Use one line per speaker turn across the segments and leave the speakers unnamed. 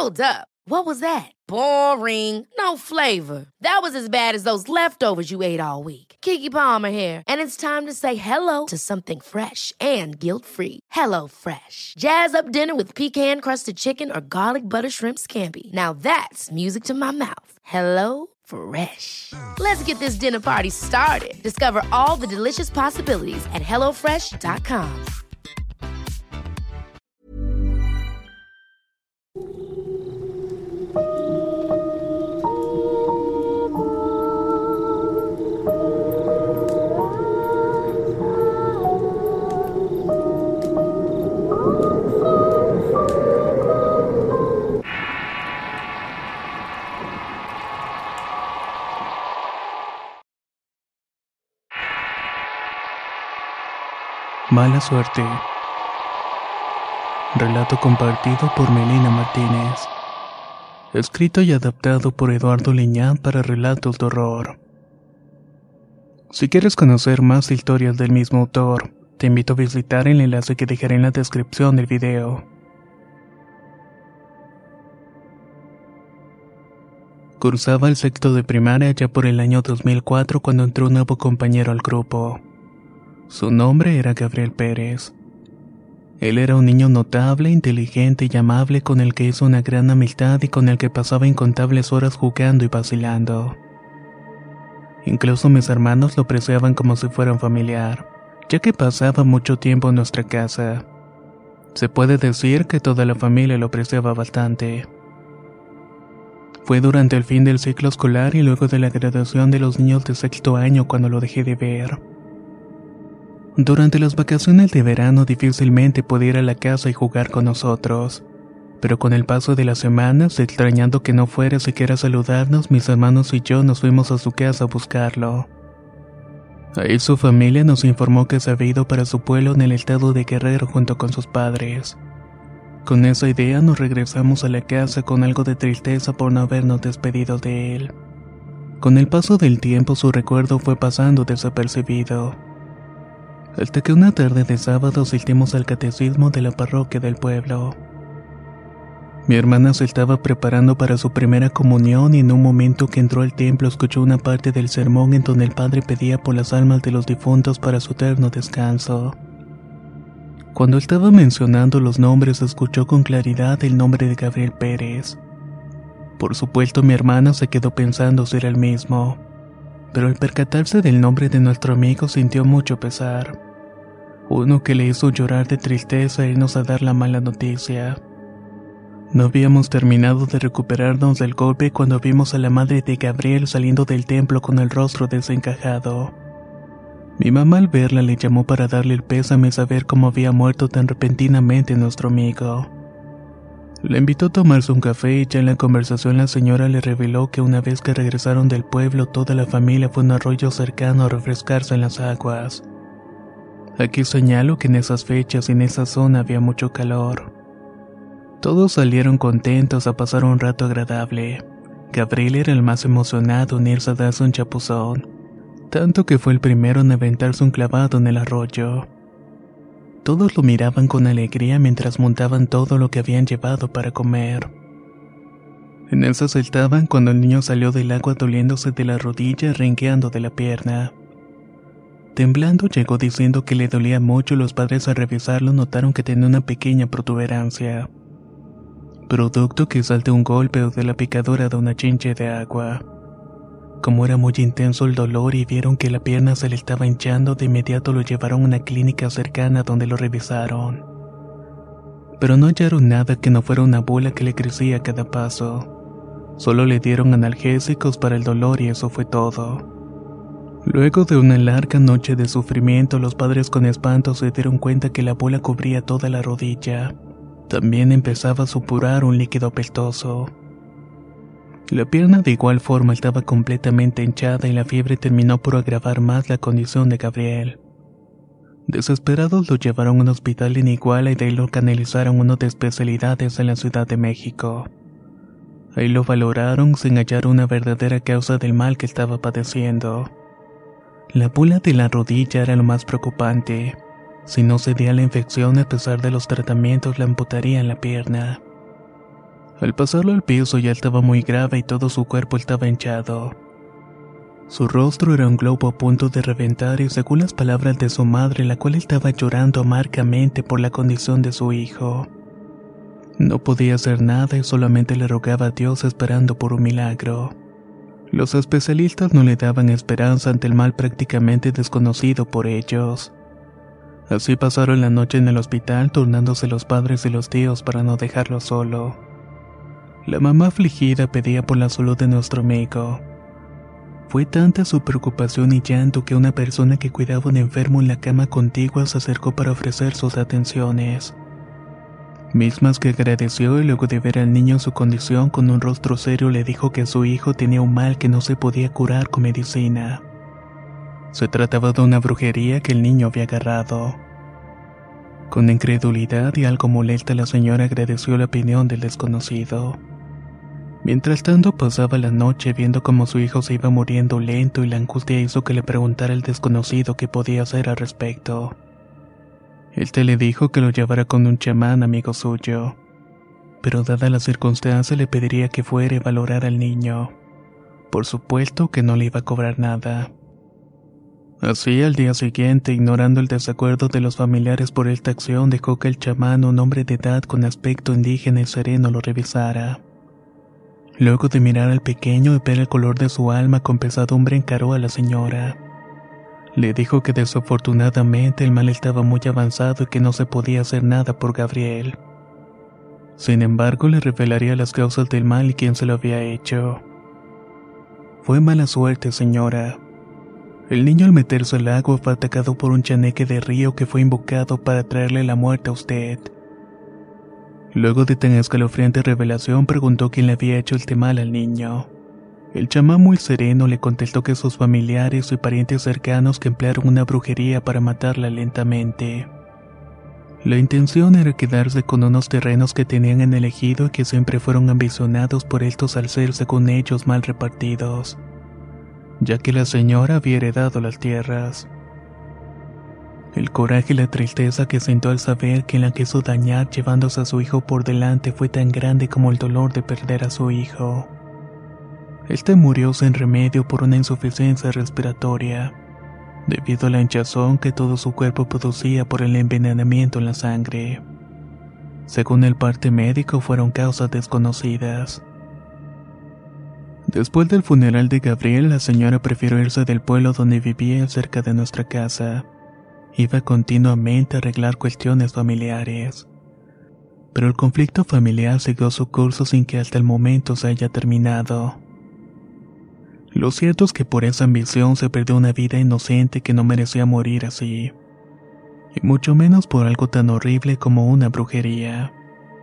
Hold up. What was that? Boring. No flavor. That was as bad as those leftovers you ate all week. Keke Palmer here, and it's time to say hello to something fresh and guilt-free. Hello Fresh. Jazz up dinner with pecan-crusted chicken or garlic butter shrimp scampi. Now that's music to my mouth. Hello Fresh. Let's get this dinner party started. Discover all the delicious possibilities at hellofresh.com.
Mala suerte. Relato compartido por Melina Martínez. Escrito y adaptado por Eduardo Liñán para relatos de horror. Si quieres conocer más historias del mismo autor, te invito a visitar el enlace que dejaré en la descripción del video. Cursaba el sexto de primaria ya por el año 2004 cuando entró un nuevo compañero al grupo. Su nombre era Gabriel Pérez. Él era un niño notable, inteligente y amable con el que hizo una gran amistad y con el que pasaba incontables horas jugando y vacilando. Incluso mis hermanos lo apreciaban como si fuera un familiar, ya que pasaba mucho tiempo en nuestra casa. Se puede decir que toda la familia lo apreciaba bastante. Fue durante el fin del ciclo escolar y luego de la graduación de los niños de sexto año cuando lo dejé de ver. Durante las vacaciones de verano difícilmente podía ir a la casa y jugar con nosotros, pero con el paso de las semanas, extrañando que no fuera siquiera a saludarnos, mis hermanos y yo nos fuimos a su casa a buscarlo. Ahí su familia nos informó que se había ido para su pueblo en el estado de Guerrero junto con sus padres. Con esa idea nos regresamos a la casa con algo de tristeza por no habernos despedido de él. Con el paso del tiempo su recuerdo fue pasando desapercibido. Hasta que una tarde de sábado asistimos al catecismo de la parroquia del pueblo. Mi hermana se estaba preparando para su primera comunión y en un momento que entró al templo escuchó una parte del sermón en donde el padre pedía por las almas de los difuntos para su eterno descanso. Cuando estaba mencionando los nombres escuchó con claridad el nombre de Gabriel Pérez. Por supuesto mi hermana se quedó pensando si era el mismo. Pero al percatarse del nombre de nuestro amigo sintió mucho pesar. Uno que le hizo llorar de tristeza e irnos a dar la mala noticia. No habíamos terminado de recuperarnos del golpe cuando vimos a la madre de Gabriel saliendo del templo con el rostro desencajado. Mi mamá al verla le llamó para darle el pésame y saber cómo había muerto tan repentinamente nuestro amigo. Le invitó a tomarse un café y ya en la conversación la señora le reveló que una vez que regresaron del pueblo toda la familia fue a un arroyo cercano a refrescarse en las aguas. Aquí señalo que en esas fechas y en esa zona había mucho calor. Todos salieron contentos a pasar un rato agradable. Gabriel era el más emocionado en irse a darse un chapuzón, tanto que fue el primero en aventarse un clavado en el arroyo. Todos lo miraban con alegría mientras montaban todo lo que habían llevado para comer. En esas estaban cuando el niño salió del agua doliéndose de la rodilla y rengueando de la pierna. Temblando llegó diciendo que le dolía mucho y los padres al revisarlo notaron que tenía una pequeña protuberancia. Producto quizás de un golpe o de la picadura de una chinche de agua. Como era muy intenso el dolor y vieron que la pierna se le estaba hinchando, de inmediato lo llevaron a una clínica cercana donde lo revisaron. Pero no hallaron nada que no fuera una bola que le crecía a cada paso. Solo le dieron analgésicos para el dolor y eso fue todo. Luego de una larga noche de sufrimiento, los padres con espanto se dieron cuenta que la bola cubría toda la rodilla. También empezaba a supurar un líquido apestoso. La pierna de igual forma estaba completamente hinchada y la fiebre terminó por agravar más la condición de Gabriel. Desesperados lo llevaron a un hospital en Iguala y de ahí lo canalizaron a uno de especialidades en la Ciudad de México. Ahí lo valoraron sin hallar una verdadera causa del mal que estaba padeciendo. La bola de la rodilla era lo más preocupante. Si no cedía la infección a pesar de los tratamientos, le amputarían la pierna. Al pasarlo al piso ya estaba muy grave y todo su cuerpo estaba hinchado. Su rostro era un globo a punto de reventar y según las palabras de su madre, la cual estaba llorando amargamente por la condición de su hijo. No podía hacer nada y solamente le rogaba a Dios esperando por un milagro. Los especialistas no le daban esperanza ante el mal prácticamente desconocido por ellos. Así pasaron la noche en el hospital turnándose los padres y los tíos para no dejarlo solo. La mamá afligida pedía por la salud de nuestro amigo. Fue tanta su preocupación y llanto que una persona que cuidaba a un enfermo en la cama contigua se acercó para ofrecer sus atenciones. Mismas que agradeció y luego de ver al niño en su condición con un rostro serio le dijo que su hijo tenía un mal que no se podía curar con medicina. Se trataba de una brujería que el niño había agarrado. Con incredulidad y algo molesta la señora agradeció la opinión del desconocido. Mientras tanto pasaba la noche viendo cómo su hijo se iba muriendo lento y la angustia hizo que le preguntara al desconocido qué podía hacer al respecto. Éste le dijo que lo llevara con un chamán amigo suyo, pero dada la circunstancia le pediría que fuera y valorara al niño. Por supuesto que no le iba a cobrar nada. Así al día siguiente, ignorando el desacuerdo de los familiares por esta acción, dejó que el chamán, un hombre de edad con aspecto indígena y sereno, lo revisara. Luego de mirar al pequeño y ver el color de su alma con pesadumbre encaró a la señora. Le dijo que desafortunadamente el mal estaba muy avanzado y que no se podía hacer nada por Gabriel. Sin embargo, le revelaría las causas del mal y quién se lo había hecho. Fue mala suerte, señora. El niño al meterse al agua fue atacado por un chaneque de río que fue invocado para traerle la muerte a usted. Luego de tan escalofriante revelación preguntó quién le había hecho este mal al niño. El chamán muy sereno le contestó que sus familiares y parientes cercanos que emplearon una brujería para matarla lentamente. La intención era quedarse con unos terrenos que tenían en el ejido y que siempre fueron ambicionados por estos al ser según ellos mal repartidos, ya que la señora había heredado las tierras. El coraje y la tristeza que sintió al saber que la quiso dañar llevándose a su hijo por delante fue tan grande como el dolor de perder a su hijo. Este murió sin remedio por una insuficiencia respiratoria, debido a la hinchazón que todo su cuerpo producía por el envenenamiento en la sangre. Según el parte médico, fueron causas desconocidas. Después del funeral de Gabriel, la señora prefirió irse del pueblo donde vivía cerca de nuestra casa. Iba continuamente a arreglar cuestiones familiares. Pero el conflicto familiar siguió su curso sin que hasta el momento se haya terminado. Lo cierto es que por esa ambición se perdió una vida inocente que no merecía morir así. Y mucho menos por algo tan horrible como una brujería.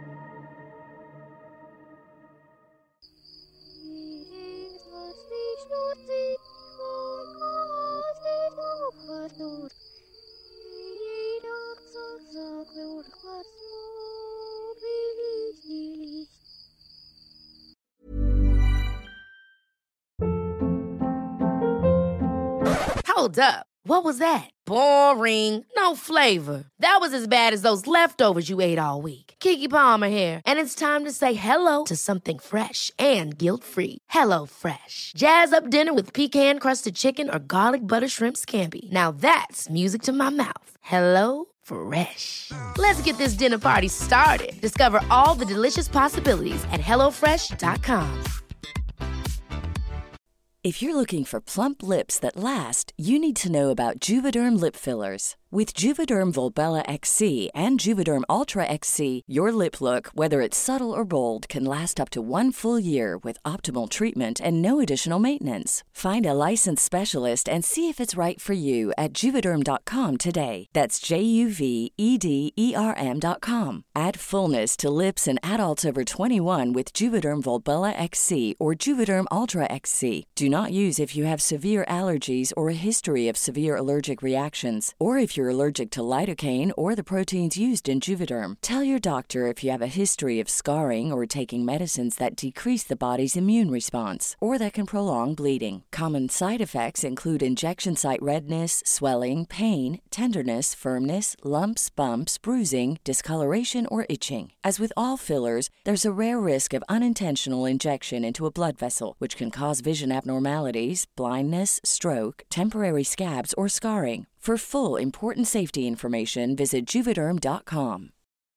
Hold up. What was that? Boring. No flavor. That was as bad as those leftovers you ate all week. Keke Palmer here, and it's time to say hello to something fresh and guilt-free. Hello Fresh. Jazz up dinner with pecan-crusted chicken or garlic butter shrimp scampi. Now that's music to my mouth. Hello Fresh. Let's get this dinner party started. Discover all the delicious possibilities at hellofresh.com.
If you're looking for plump lips that last, you need to know about Juvederm lip fillers. With Juvederm Volbella XC and Juvederm Ultra XC, your lip look, whether it's subtle or bold, can last up to 1 full year with optimal treatment and no additional maintenance. Find a licensed specialist and see if it's right for you at Juvederm.com today. That's JUVEDERM.com. Add fullness to lips in adults over 21 with Juvederm Volbella XC or Juvederm Ultra XC. Do not use if you have severe allergies or a history of severe allergic reactions, or if you're allergic to lidocaine or the proteins used in Juvederm. Tell your doctor if you have a history of scarring or taking medicines that decrease the body's immune response or that can prolong bleeding. Common side effects include injection site redness, swelling, pain, tenderness, firmness, lumps, bumps, bruising, discoloration, or itching. As with all fillers, there's a rare risk of unintentional injection into a blood vessel, which can cause vision abnormalities, blindness, stroke, temporary scabs, or scarring. For full, important safety information, visit Juvederm.com.